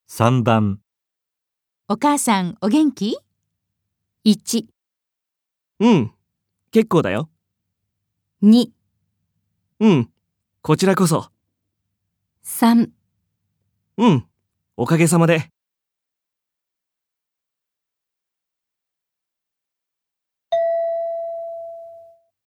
3番。 お母さんお元気？ 1、 うん、結構だよ。 2、 うん、こちらこそ。 3 うん、おかげさまで。